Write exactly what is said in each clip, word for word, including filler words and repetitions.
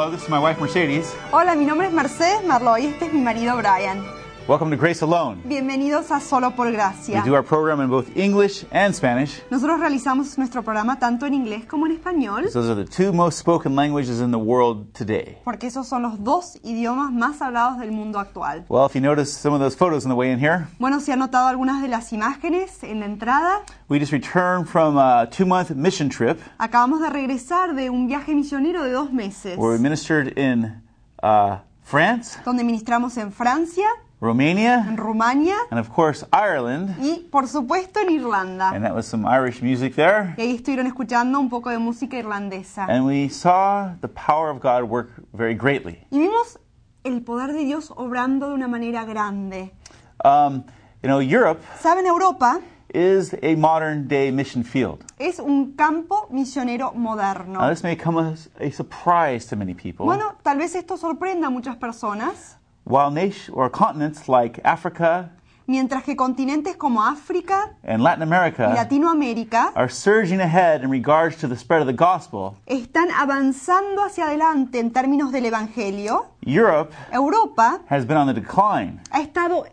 Hello, this is my wife Mercedes. Hola, mi nombre es Mercedes Marlowe y este es mi marido Brian. Welcome to Grace Alone. Bienvenidos a Solo por Gracia. We do our program in both English and Spanish. Nosotros realizamos nuestro programa tanto en inglés como en español. Those are the two most spoken languages in the world today. Porque esos son los dos idiomas más hablados del mundo actual. Well, if you notice some of those photos on the way in here, Bueno, si han notado algunas de las imágenes en la entrada, we just returned from a two-month mission trip acabamos de regresar de un viaje misionero de dos meses, where we ministered in uh, France, donde ministramos en Francia, Romania, en Rumania and of course Ireland. y, por supuesto, en Irlanda. And that was some Irish music there. Y ahí estuvieron escuchando un poco de música irlandesa. And we saw the power of God work very greatly. Y vimos el poder de Dios obrando de una manera grande. Um, you know, Europe ¿Saben? Europa is a modern-day mission field. es un campo misionero moderno. Now, this may come as a surprise to many people. Bueno, tal vez esto sorprenda a muchas personas, While nation or continents like Africa mientras que continentes como África and Latin y America Latinoamérica are surging ahead in regards to the spread of the gospel, están avanzando hacia adelante en términos del Evangelio, Europe Europa has been on the decline ha estado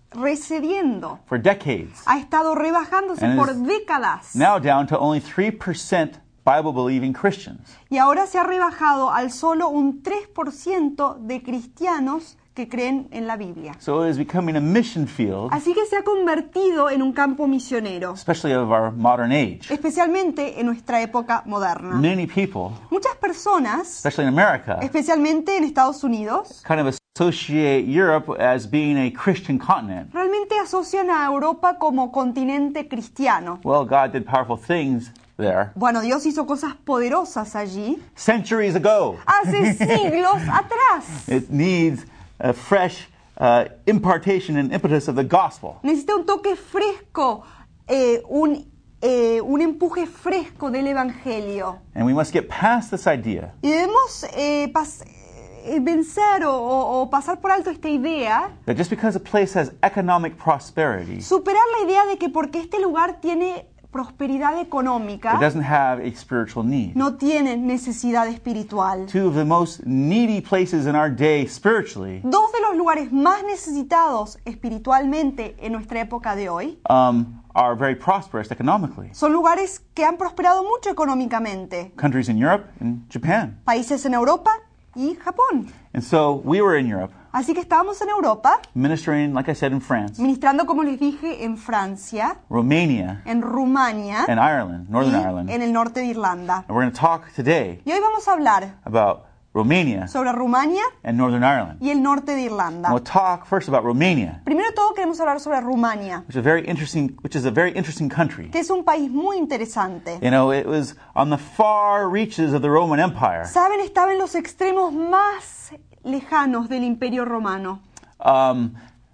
recediendo, for decades, ha estado rebajándose And por is décadas now down to only three percent Bible-believing Christians. y ahora se ha rebajado al solo un tres por ciento de cristianos que creen en la Biblia. So it is becoming a mission field, Así que se ha convertido en un campo misionero, especially of our modern age. especialmente en nuestra época moderna. Many people, Muchas personas, especially in America, especialmente en Estados Unidos, kind of associate Europe as being a Christian continent. realmente asocian a Europa como continente cristiano. Well, God did powerful things there Bueno, Dios hizo cosas poderosas allí centuries ago. hace siglos atrás. It needs a fresh uh, impartation and impetus of the gospel. Necesita un toque fresco, eh, un, eh, un empuje fresco del Evangelio. And we must get past this idea Y debemos eh, pas- eh, vencer o, o- o pasar por alto esta idea, that just because a place has economic prosperity, superar la idea de que porque este lugar tiene prosperidad it económica, doesn't have a spiritual need. no tiene necesidad espiritual. Two of the most needy places in our day spiritually Dos de los lugares más necesitados espiritualmente en nuestra época de hoy um, are very prosperous economically. son lugares que han prosperado mucho económicamente. Countries in Europe and Japan. Países en Europa y Japón. And so we were in Europe, Así que estábamos en Europa, ministering, like I said, in France, ministrando, como les dije, en Francia, Romania, en Rumania and Ireland, y Northern Ireland. en el norte de Irlanda. And we're going to talk today Y hoy vamos a hablar about Romania sobre Rumania and Northern Ireland. y el norte de And Irlanda. we'll talk first about Romania, Primero de todo queremos hablar sobre Rumania, which is a very interesting, which is a very interesting country. que es un país muy interesante. You know, it was on the far reaches of the Roman Empire. Saben, estaba en los extremos más lejanos del Imperio Romano. Um,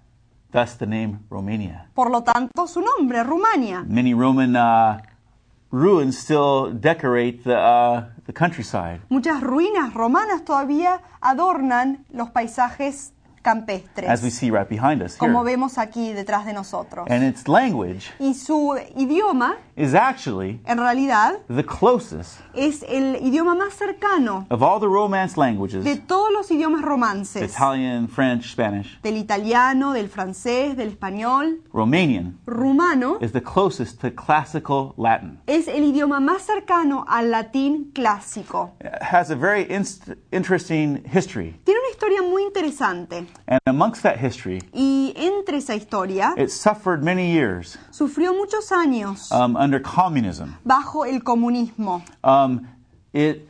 thus the name Romania. Por lo tanto, su nombre, Rumania. Many Roman uh, ruins still decorate the, uh, the countryside. Muchas ruinas romanas todavía adornan los paisajes campestres, As we see right behind us como here. vemos aquí detrás de nosotros. And its language Y su idioma, is actually en realidad, the closest es el idioma más cercano of all the Romance de languages, todos los idiomas romances. Italian, French, Spanish. Del italiano, del francés, del español. Romanian Rumano is the closest to classical Latin. es el idioma más cercano al latín clásico. It has a very inst- interesting history. Tiene una historia muy interesante. And amongst that history, Y entre esa historia, it suffered many years sufrió muchos años um, under communism. bajo el comunismo. Um, it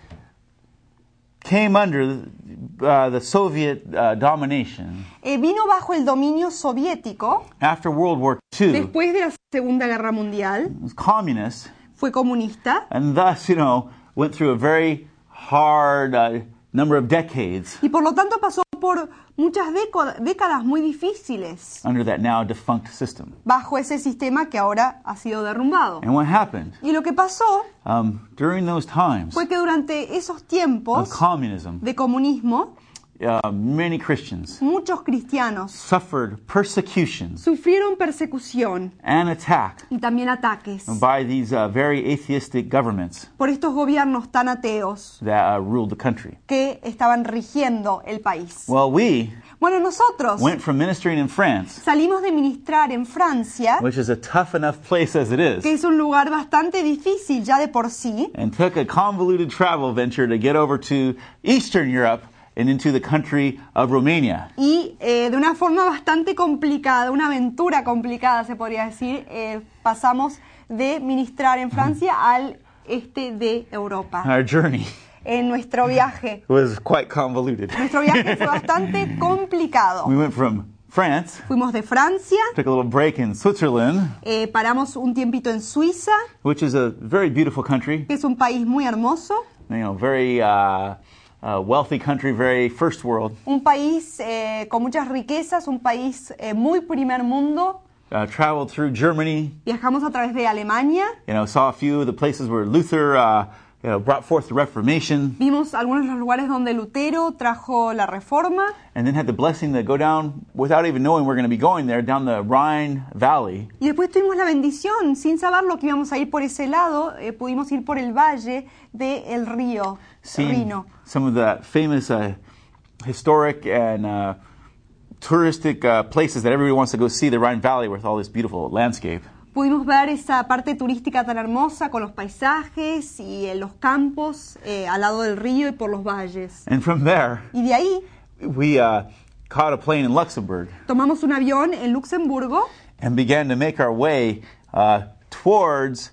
came under uh, the Soviet uh, domination Eh, vino bajo el dominio soviético after World War Two. It después de la Segunda Guerra Mundial. was communist, Fue comunista and thus, you know, went through a very hard uh, number of decades y por lo tanto pasó por muchas déco- décadas muy difíciles under that now defunct system. bajo ese sistema que ahora ha sido derrumbado. And what happened Y lo que pasó um, during those times fue que durante esos of tiempos communism, de comunismo, uh, many Christians muchos cristianos suffered persecutions sufrieron persecución and attack y también ataques by these uh, very atheistic governments por estos gobiernos tan ateos that uh, ruled the country. que estaban rigiendo el país. Well, we Bueno, nosotros went from ministering in France, salimos de ministrar en Francia, which is a tough enough place as it que is, es un lugar bastante difícil ya de por sí, and took a convoluted travel venture to get over to Eastern Europe and into the country of Romania. y eh, de una forma bastante complicada, una aventura complicada se podría decir, eh, pasamos de ministrar en Francia al este de Europa. Our journey En nuestro viaje, was quite convoluted. nuestro viaje fue bastante complicado. We went from France, Fuimos de Francia, took a little break in Switzerland, eh, paramos un tiempito en Suiza, which is a very beautiful country, que es un país muy hermoso, you know, very uh, uh, wealthy country, very first world. un país eh, con muchas riquezas, un país eh, muy primer mundo. Uh, traveled through Germany, Viajamos a través de Alemania, you know, saw a few of the places where Luther uh, you know, brought forth the Reformation, vimos algunos de los lugares donde Lutero trajo la reforma and then had the blessing to go down, without even knowing we're going to be going there, down the Rhine Valley, y después tuvimos la bendición, sin saberlo que íbamos a ir por ese lado, eh, pudimos ir por el valle del río seeing Rino. some of the famous uh, historic and uh, touristic uh, places that everybody wants to go see, the Rhine Valley with all this beautiful landscape. Pudimos ver esa parte turística tan hermosa con los paisajes y en los campos eh, al lado del río y por los valles. And from there, Y de ahí we uh, caught a plane in Luxembourg tomamos un avión en Luxemburgo and began to make our way uh, towards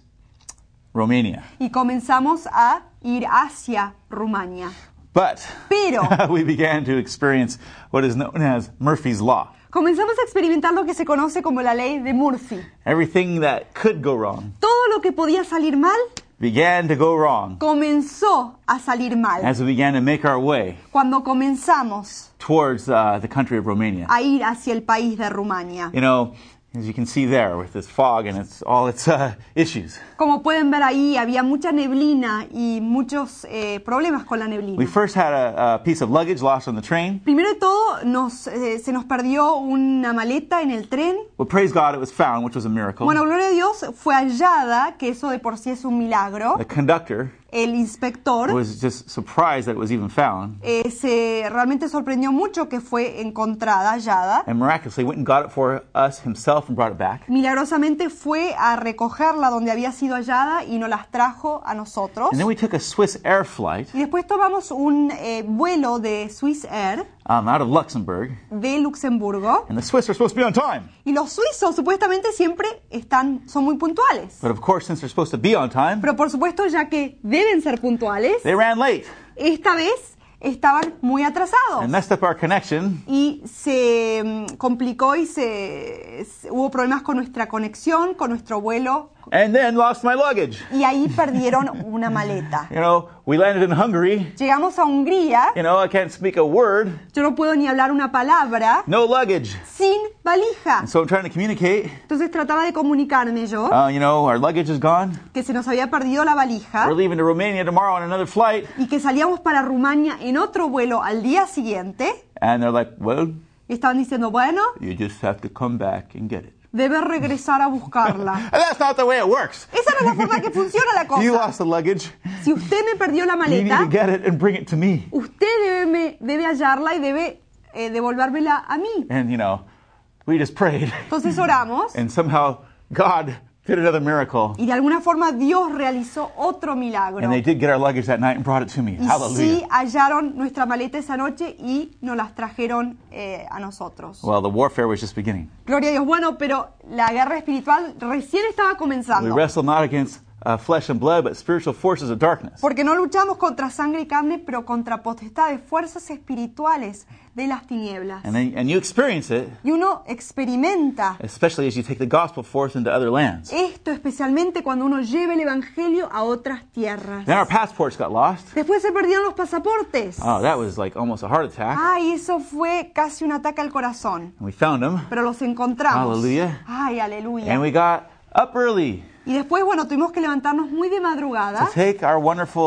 Romania. y comenzamos a ir hacia Rumania. But Pero we began to experience what is known as Murphy's Law. comenzamos a experimentar lo que se conoce como la ley de Murphy. Everything that could go wrong Todo lo que podía salir mal began to go wrong comenzó a salir mal as we began to make our way cuando comenzamos towards uh, the country of Romania. a ir hacia el país de Rumania. You know, as you can see there with this fog and its all its uh, issues. Como pueden ver ahí, había mucha neblina y muchos eh, problemas con la We neblina. first had a, a piece of luggage lost on the train, Primero de todo, nos, eh, se nos perdió una maleta en el tren. but praise God it was found, which was a miracle. Bueno, gloria a Dios, fue hallada, que eso de por sí es un milagro. The conductor El inspector was just surprised that it was even found, eh, se realmente sorprendió mucho que fue encontrada, hallada. and miraculously went and got it for us himself and brought it back. Milagrosamente fue a recogerla donde había sido hallada y nos las trajo a nosotros. And then we took a Swiss Air flight Y después tomamos un eh, vuelo de Swiss Air um, out of Luxembourg, de Luxemburgo. and the Swiss are supposed to be on time. Y los suizos supuestamente siempre están, son muy puntuales. But of course, since they're supposed to be on time, Pero por supuesto, ya que deben ser puntuales, they ran late esta vez estaban muy atrasados. and messed up our connection. Y se mm, complicó y se, se- hubo problemas con nuestra conexión, con nuestro vuelo. And then lost my luggage. Y ahí perdieron una maleta. You know, we landed in Hungary. Llegamos a Hungría. You know, I can't speak a word. Yo no puedo ni hablar una palabra No luggage. sin valija. And so I'm trying to communicate. Entonces trataba de comunicarme yo Uh, you know, our luggage is gone. que se nos había perdido la valija We're leaving to Romania tomorrow on another flight. y que salíamos para Rumania en otro vuelo al día siguiente. And they're like, well, Y estaban diciendo, bueno, you just have to come back and get it. debe regresar a buscarla. And that's not the way it works. Esa no es la forma que funciona la You cosa. lost the luggage. Si usted me perdió la You need to maleta, get it and bring it to me. usted debe, me- debe hallarla y debe eh, devolvérmela a mí. And, you know, we just prayed. Entonces oramos And somehow God did another miracle. y de alguna forma Dios realizó otro milagro. And they did get our luggage that night and brought it to me. Y sí Hallelujah. hallaron nuestra maleta esa noche y nos las trajeron eh, a nosotros. Well, the warfare was just beginning. Gloria a Dios. Bueno, pero la guerra espiritual recién estaba We comenzando. wrestle not against uh, flesh and blood, but spiritual forces of darkness. Porque no luchamos contra sangre y carne, pero contra potestades, fuerzas espirituales de las tinieblas. And, then, and you experience it, Y uno experimenta especially as you take the gospel forth into other lands. esto especialmente cuando uno lleva el evangelio a otras tierras. Then our passports got lost. Después se perdieron los pasaportes. Oh, that was like almost a heart attack. Ay, eso fue casi un ataque al corazón. And we found them. Pero los encontramos. Aleluya. Ay, aleluya. And we got up early Y después, bueno, tuvimos que levantarnos muy de to madrugada take our wonderful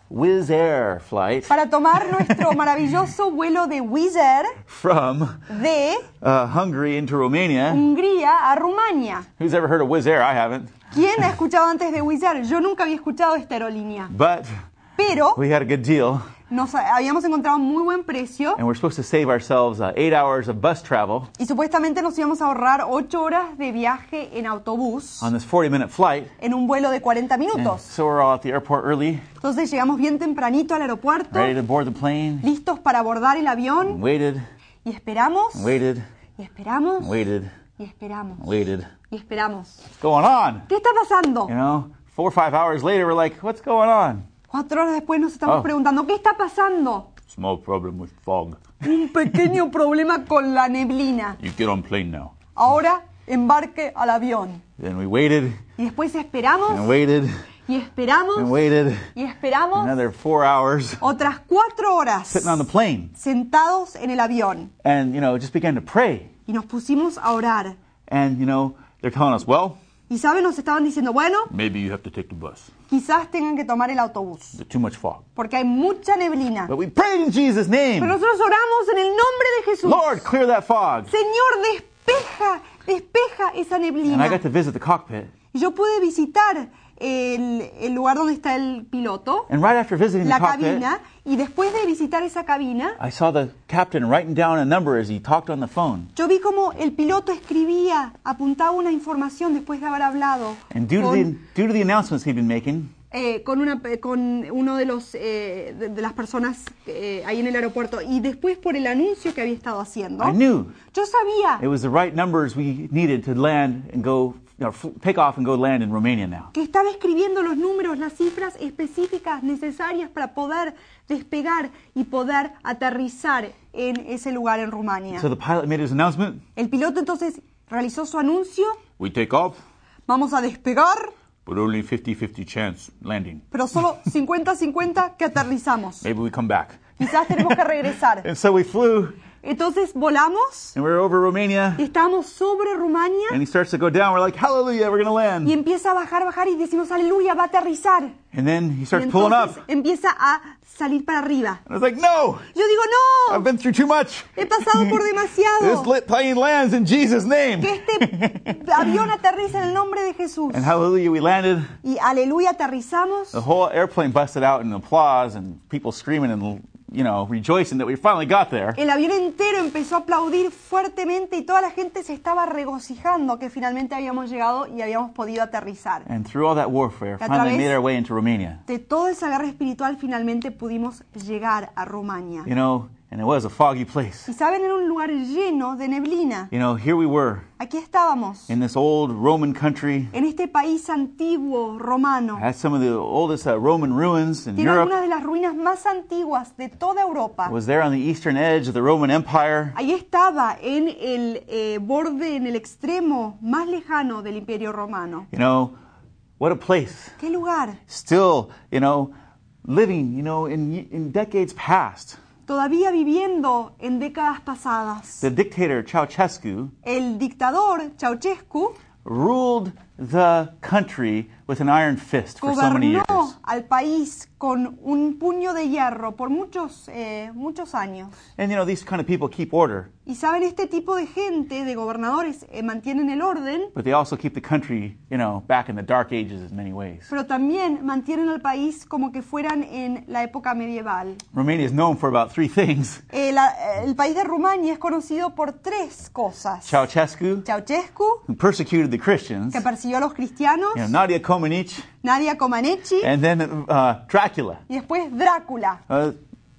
Wizz Air flight para tomar nuestro maravilloso vuelo de Wizz Air from de uh, Hungary into Romania. Hungría a Rumania. Who's ever heard of Wizz Air? I haven't. ¿Quién ha escuchado antes de Wizz Air? Yo nunca había escuchado esta aerolínea. But Pero we had a good deal, nos habíamos encontrado un muy buen precio and we're supposed to save ourselves uh, eight hours of bus travel y supuestamente nos íbamos a ahorrar ocho horas de viaje en autobús on this forty-minute flight. en un vuelo de cuarenta And minutos. so we're all at the airport early, Entonces llegamos bien tempranito al aeropuerto, ready to board the plane. listos para abordar el avión Waited, y esperamos, waited, y esperamos, waited, y esperamos, waited. y esperamos. What's going on? ¿Qué está pasando? You know, four or five hours later, we're like, what's going on? Cuatro horas después nos estamos Oh. preguntando, ¿qué está pasando? Small problem with fog. Un pequeño problema con la neblina. You get on plane now. Ahora embarque al avión. Then we waited Y después esperamos, and waited y esperamos, and waited y esperamos another four hours otras cuatro horas sitting on the plane. sentados en el avión. And, you know, just began to pray. Y nos pusimos a orar. And, you know, they're telling us, well, Y saben, nos estaban diciendo, bueno, maybe you have to take the bus. quizás tengan que tomar el autobús, There's too much fog. porque hay mucha neblina. But we prayed in Jesus' Pero name. nosotros oramos en el nombre de Jesús. Lord, clear that fog. Señor, despeja, despeja esa And I neblina. got to visit the cockpit. Y yo pude visitar el, el lugar donde está el piloto, And right after visiting the la cockpit, cabina, y después de visitar esa cabina, I saw the captain writing down a number as he talked on the phone. yo vi como el piloto escribía, apuntaba una información después de haber hablado And due to, con, the, due to the announcements he'd been making, eh, con, una, con uno de, los, eh, de, de las personas eh, ahí en el aeropuerto, y después por el anuncio que había estado haciendo, I knew yo sabía it was the right numbers we needed to land and go, you know, f- take off and go land in Romania now. que estaba escribiendo los números, las cifras específicas necesarias para poder despegar y poder aterrizar en ese lugar en Rumania. So the pilot made his announcement. El piloto entonces realizó su anuncio, We take off, vamos a despegar, but only fifty-fifty chance landing. pero solo cincuenta cincuenta que aterrizamos. Maybe we come back. Quizás tenemos que regresar. And so we flew, Entonces volamos and we were over Romania, y estábamos sobre Rumania and he starts to go down. We're like, hallelujah, we're going to y land. empieza a bajar, bajar y decimos, aleluya, va a aterrizar. And then he Y starts pulling up. entonces empieza a salir para arriba. And I was like, no, Yo digo, I've no, been through too much. he pasado por This demasiado. lit plane lands in Jesus' name. Que este avión aterriza en el nombre de Jesús. And hallelujah, we landed. Y aleluya, aterrizamos. The whole airplane busted out in applause and people screaming and, you know, rejoicing that we finally got there. El avión entero empezó a aplaudir fuertemente y toda la gente se estaba regocijando que finalmente habíamos llegado y habíamos podido aterrizar. And through all that warfare, A finally través- made our way into Romania. De toda esa guerra espiritual finalmente pudimos llegar a Rumania. You know, and it was a foggy place. Y saben, era un lugar lleno de neblina. You know, here we were Aquí estábamos, in this old Roman country. en este país antiguo romano. Had some of the oldest uh, Roman ruins in Tiene algunas Europe. de las ruinas más antiguas de toda Europa. Was there on the eastern edge of the Roman Empire. Ahí estaba, en el eh, borde, en el extremo más lejano del Imperio Romano. You know, what a place. ¿Qué lugar? Still, you know, living, you know, in, in decades past. Todavía viviendo en décadas pasadas. The dictator Ceausescu El dictador Ceausescu ruled the country with an iron fist for so many gobernó years. al país con un puño de hierro por muchos, eh, muchos años. And, you know, these kind of people keep order, Y saben, este tipo de gente, de gobernadores, eh, mantienen el orden, but they also keep the country, you know, back in the dark ages in many ways. pero también mantienen al país como que fueran en la época medieval. Romania is known for about three things. Eh, la- el país de Rumania es conocido por tres cosas. Ceausescu, Ceausescu, who persecuted the Christians, que persiguió a los cristianos, you know, Nadia Comaneci, Nadia Comaneci, and then uh, Dracula. y después Drácula. Uh,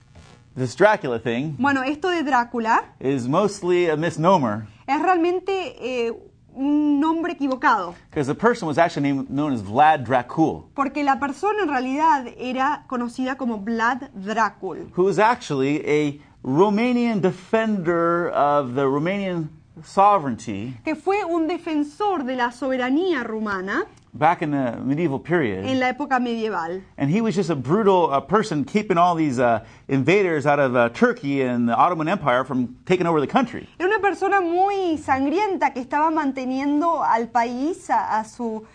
this Dracula thing Bueno, esto de Drácula is mostly a misnomer es realmente eh, un nombre equivocado, because the person was actually named, known as Vlad Dracul, porque la persona en realidad era conocida como Vlad Dracul, who was actually a Romanian defender of the Romanian sovereignty que fue un defensor de la soberanía rumana back in the medieval en period. la época medieval. And he was just a brutal uh, person keeping all these uh, invaders out of uh, Turkey and the Ottoman Empire from taking over the country. Era una persona muy sangrienta que estaba manteniendo al país, a, a su,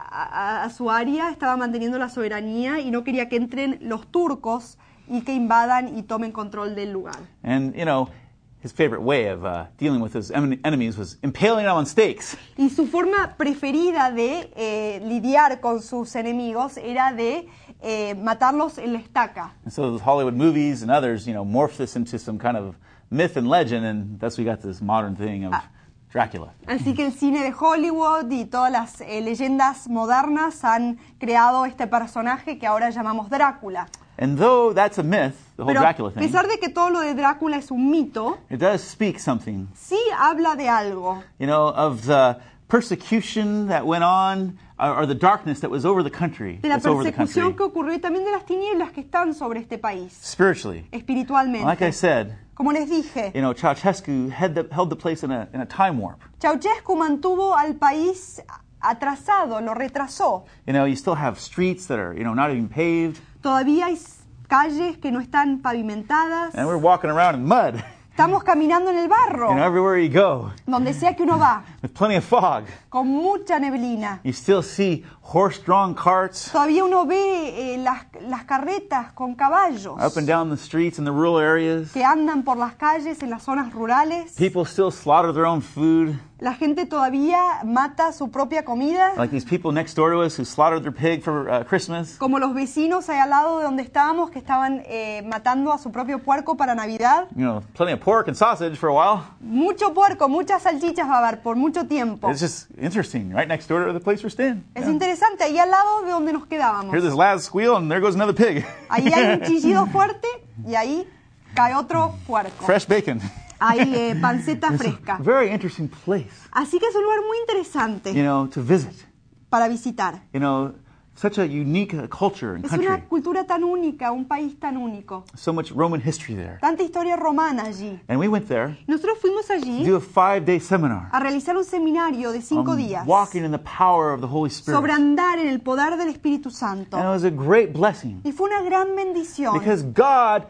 a, a su área, estaba manteniendo la soberanía y no quería que entren los turcos y que invadan y tomen control del lugar. And, you know, his favorite way of uh, dealing with his em- enemies was impaling them on stakes. Y su forma preferida de eh, lidiar con sus enemigos era de eh, matarlos en la estaca. And so the Hollywood movies and others, you know, morph this into some kind of myth and legend, and thus we got this modern thing of Ah. Dracula. Así que el cine de Hollywood y todas las eh, leyendas modernas han creado este personaje que ahora llamamos Drácula. And though that's a myth, the whole Pero Dracula a thing, pesar de que todo lo de Drácula es un mito, it does speak something, sí habla de algo, you know, of the persecution that went on, or, or the darkness that was over the country, de la that's over the persecución country, que ocurrió y también de las tinieblas que están sobre este país, spiritually. espiritualmente. Like I said, Como les dije, you know, Ceausescu had the, held the place in a, in a time warp. Ceausescu mantuvo al país atrasado, lo retrasó. You know, you still have streets that are, you know, not even paved, Todavía hay calles que no están pavimentadas. and we're walking around in mud, Estamos caminando en el barro, you know, everywhere you go, donde sea que uno va, with plenty of fog. con mucha neblina. You still see horse-drawn carts Todavía uno ve eh, las, las carretas con caballos up and down the streets in the rural areas. que andan por las calles en las zonas rurales. People still slaughter their own food, La gente todavía mata su propia comida, like these people next door to us who slaughtered their pig for uh, Christmas. como los vecinos ahí al lado de donde estábamos que estaban eh, matando a su propio puerco para Navidad. You know, plenty of pork and sausage for a while. Mucho puerco, muchas salchichas va a haber por mucho tiempo. It's just interesting, right next door to the place we're staying. Es Yeah. interesante, ahí al lado de donde nos quedábamos. Hear this last squeal, and there goes another pig. Ahí hay un chillido fuerte y ahí cae otro puerco. Fresh bacon. Hay eh, panceta fresca. Very interesting place, Así que es un lugar muy interesante you know, to visit. para visitar. You know, such a unique uh, culture and Es country. una cultura tan única, un país tan único. So much Roman history there. Tanta historia romana allí. And we went there Nosotros fuimos to allí do a five-day seminar a realizar un seminario de cinco on días walking in the power of the Holy Spirit. sobre andar en el poder del Espíritu Santo. And it was a great blessing Y fue una gran bendición because God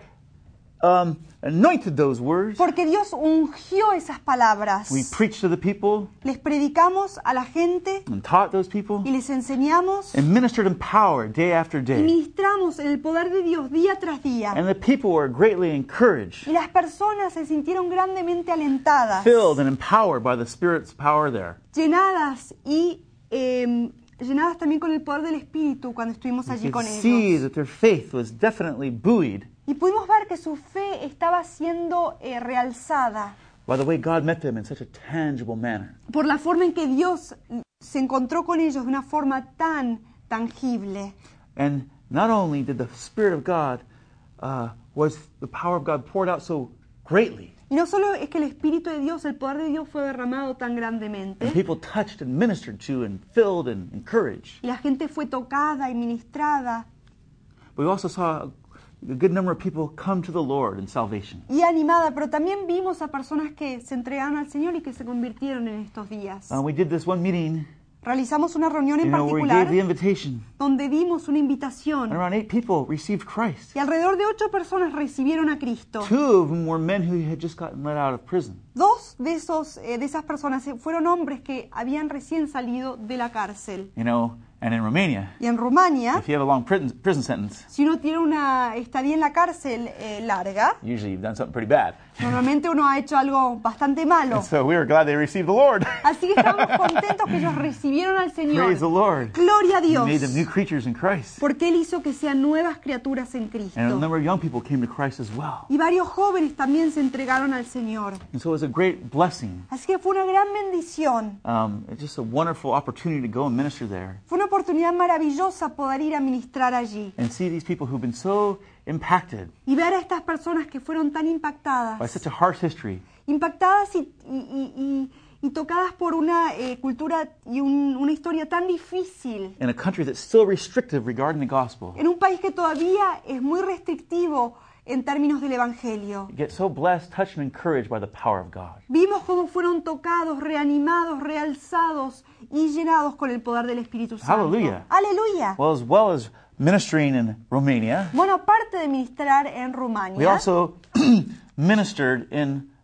um, anointed those words. porque Dios ungió esas palabras. We preached to the people Les predicamos a la gente and taught those people y les enseñamos and ministered in power day after y day. ministramos en el poder de Dios día tras día. And the people were greatly encouraged, Y las personas se sintieron grandemente alentadas, filled and empowered by the Spirit's power there. llenadas y eh, llenadas también con el poder del Espíritu cuando estuvimos allí You con could see ellos. that their faith was definitely buoyed Y pudimos ver que su fe estaba siendo eh, realzada by the way God met them in such a tangible manner. por la forma en que Dios se encontró con ellos de una forma tan tangible. And not only did the Spirit of God, uh, was the power of God poured out so greatly, Y no solo es que el Espíritu de Dios, el poder de Dios fue derramado tan grandemente, and people touched and ministered to and filled and encouraged, y la gente fue tocada y ministrada but we also saw a good number of people come to the Lord in salvation. y animada, pero también vimos a personas que se entregaron al Señor y que se convirtieron en estos días. Uh, we did this one meeting, Realizamos una reunión you en know, where we particular gave the invitation, donde dimos una and invitación around eight people received Christ. y alrededor de ocho personas recibieron a Cristo. Two of them were men who had just gotten let out of prison. Dos de, esos, eh, de esas personas fueron hombres que habían recién salido de la cárcel. You know, and in Romania, Y en Rumania, if you have a long prison, prison sentence, si uno tiene una estadía en la cárcel eh, larga, usually you've done something pretty bad. normalmente uno ha hecho algo bastante malo. And so we were glad they received the Lord. Así que estamos contentos que ellos recibieron al Señor. Praise the Lord. Gloria a He Dios. made them new creatures in Christ. Porque Él hizo que sean nuevas criaturas en And a Cristo. number of young people came to Christ as well. Y varios jóvenes también se entregaron al Señor. And so it was a great blessing. Así que fue una gran bendición. Um, it's just a wonderful opportunity to go and minister there Fue una oportunidad maravillosa poder ir a ministrar allí. and see these people who've been so impacted Y ver a estas personas que fueron tan by impactadas. such a harsh history. Impactadas y, y- y- y- y tocadas por una eh, cultura y un- una historia tan difícil. In a country that's still restrictive regarding the gospel. En un país que todavía es muy restrictivo en términos del Evangelio. Get so blessed, touched, and encouraged by the power of God. Vimos cómo fueron tocados, reanimados, realzados y llenados con el poder del Espíritu Santo. Hallelujah. Aleluya. Well, as well as ministering in Romania, Bueno, aparte de ministrar en we Rumania, also ministered in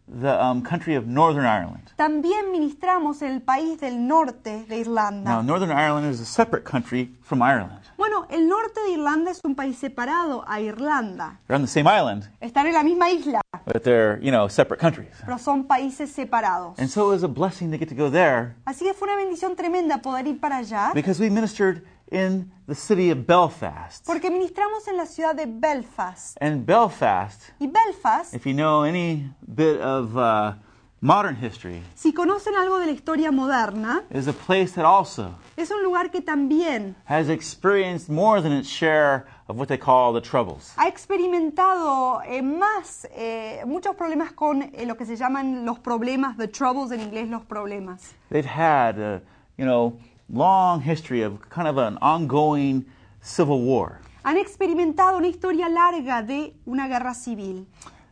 the um, country of Northern Ireland. También ministramos en el país del norte de Irlanda. Now, Northern Ireland is a separate country from Ireland. Bueno, el norte de Irlanda es un país separado a Irlanda. They're on the same island, Están en la misma isla, but they're, you know, separate countries. pero son países separados. And so it was a blessing to get to go there Así que fue una bendición tremenda poder ir para allá, because we ministered in the city of Belfast. porque ministramos en la ciudad de Belfast. And Belfast, Y Belfast, if you know any bit of uh, modern history, si conocen algo de la historia moderna, is a place that also es un lugar que también has experienced more than its share of what they call the troubles. ha experimentado eh, más, eh, muchos problemas con eh, lo que se llaman los problemas, the troubles en inglés, los problemas. They've had, a, you know, long history of kind of an ongoing civil war. Han experimentado una historia larga de una guerra civil.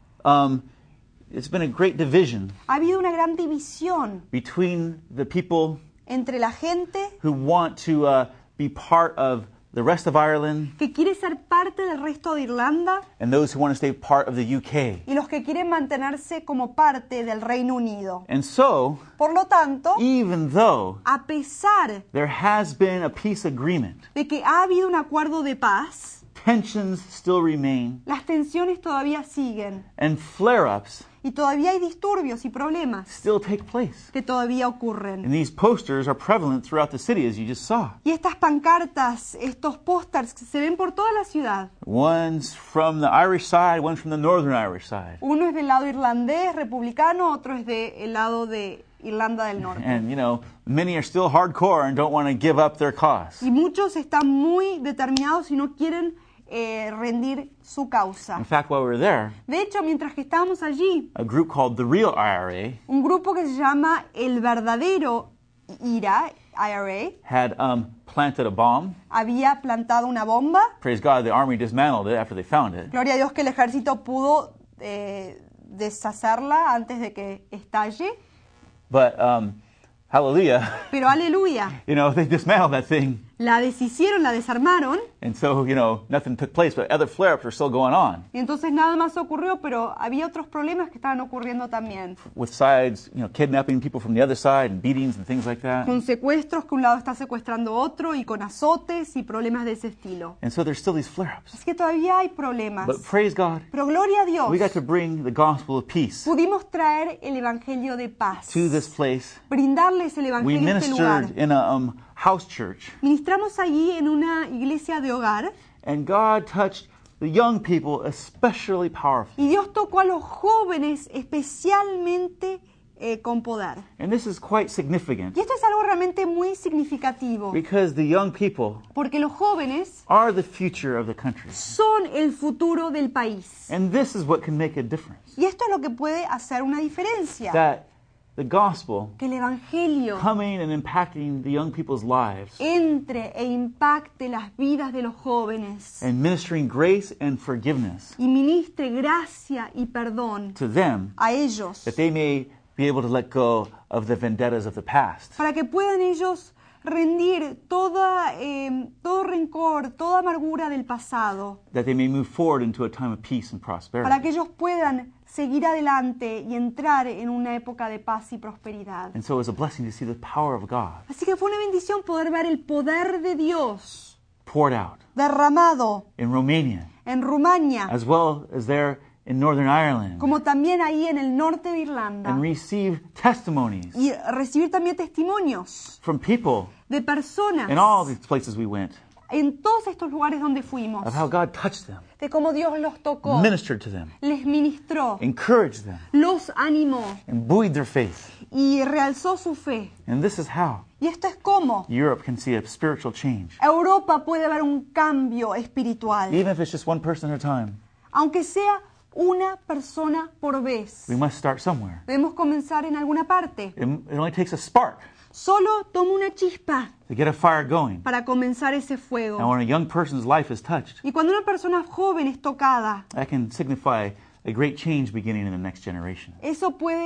Um, it's been a great division Ha habido una gran división between the people entre la gente who want to uh, be part of the rest of Ireland que quiere ser parte del resto de Irlanda and those who want to stay part of the U K. y los que quieren mantenerse como parte del Reino Unido. And so, Por lo tanto, even though a pesar there has been a peace agreement, de que ha habido un acuerdo de paz, tensions still remain las tensiones todavía siguen and flare-ups y todavía hay disturbios y problemas still take place. que todavía ocurren. And these posters are prevalent throughout the city, as you just saw. Y estas pancartas, estos pósters se ven por toda la ciudad. One's from the Irish side, one's from the Northern Irish side. Uno es del lado irlandés, republicano, otro es del lado de Irlanda del Norte. And, you know, many are still hardcore and don't want to give up their cause. Y muchos están muy determinados y no quieren eh, rendir su causa. In fact, while we were there, De hecho, mientras que estábamos allí, a group called the Real I R A un grupo que se llama El Verdadero I R A, I R A, had um, planted a bomb. había plantado una bomba. Praise God, the army dismantled it after they found it. Gloria a Dios que el ejército pudo eh, deshacerla antes de que estalle. But, um, hallelujah, Pero aleluya, you know, they dismantled that thing. la deshicieron, la desarmaron. And so, you know, nothing took place, but other flare-ups are still going on. Y entonces nada más ocurrió, pero había otros problemas que estaban ocurriendo también. With sides, you know, kidnapping people from the other side and beatings and things like that. Con secuestros, que un lado está secuestrando a otro, y con azotes y problemas de ese estilo. And so there's still these flare-ups. Así que todavía hay problemas. But praise God, Pero gloria a Dios, we got to bring the gospel of peace pudimos traer el evangelio de paz. to this place. Brindarles el We evangelio a este lugar. ministered in a um, house church, Ministramos allí en una iglesia de hogar. and God touched the young people especially powerfully. Y Dios tocó a los jóvenes especialmente eh, con poder. And this is quite significant Y esto es algo realmente muy significativo, because the young people porque los jóvenes are the future of the country. son el futuro del país. And this is what can make a difference. Y esto es lo que puede hacer una diferencia. That the gospel Que el evangelio coming and impacting the young people's lives entre e impacte las vidas de los jóvenes and ministering grace and forgiveness y ministre gracia y perdón to them a ellos, that they may be able to let go of the vendettas of the past. para que puedan ellos rendir toda, eh, todo rencor, toda amargura del pasado, That they may move forward into a time of peace and para prosperity. que ellos puedan seguir adelante y entrar en una época de paz y prosperidad. And so it was a blessing to see the power of God Así que fue una bendición poder ver el poder de Dios poured out derramado in Romania, en Rumania, as well as there in Northern Ireland, como también ahí en el norte de Irlanda, and receive testimonies y recibir también testimonios from people de personas in all these places we went en todos estos lugares donde fuimos, of how God touched them, de cómo Dios los tocó, ministered to them, les ministró, encouraged them, los animó and buoyed their faith. y realzó su fe. And this is how Y esto es como Europe can see a spiritual change, Europa puede ver un cambio espiritual, even if it's just one person at a time. aunque sea una persona por vez. We must start somewhere. Debemos comenzar en alguna parte. It, it only takes a spark Solo toma una chispa to get a fire going. para comenzar ese And fuego. when a young person's life is touched, Y cuando una persona joven es tocada, that can signify a great change beginning in the next generation. eso puede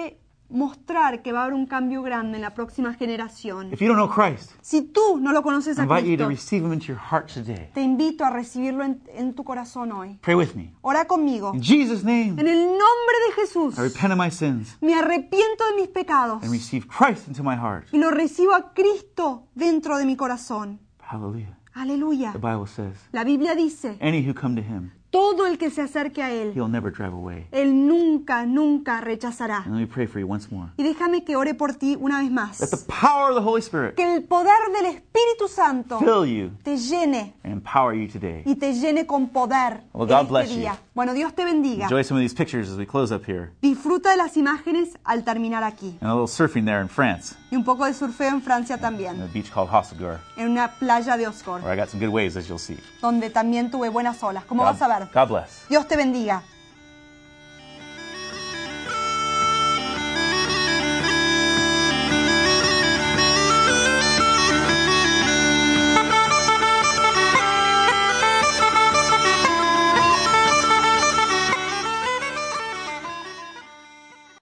mostrar que va a haber un cambio grande en la próxima generación. If you don't know Christ, Si tú no lo conoces I a invite you to Cristo, receive Him into your heart today. te invito a recibirlo en, en tu corazón hoy. Pray with me. Ora conmigo. In Jesus' name, En el nombre de Jesús, I repent of my sins me arrepiento de mis pecados and receive Christ into my heart. y lo recibo a Cristo dentro de mi corazón. Hallelujah. Aleluya. The Bible says, La Biblia dice, any who come to Him, todo el que se acerque a Él, He'll never drive away. Él nunca, nunca rechazará. And let me pray for you once more. Y déjame que ore por ti una vez más. Let the power of the Holy Spirit Que el poder del Espíritu Santo fill you te llene and empower you today. y te llene con poder Well, en God bless este you. día. Bueno, Dios te bendiga. Enjoy some of these pictures as we close up here. Disfruta de las imágenes al terminar aquí. And a little surfing there in France, Y un poco de surfeo en Francia in también, a beach called Hossegor, en una playa de Osgore, where I got some good waves, as you'll see. donde también tuve buenas olas. Como God, vas a ver. God bless. Dios te bendiga.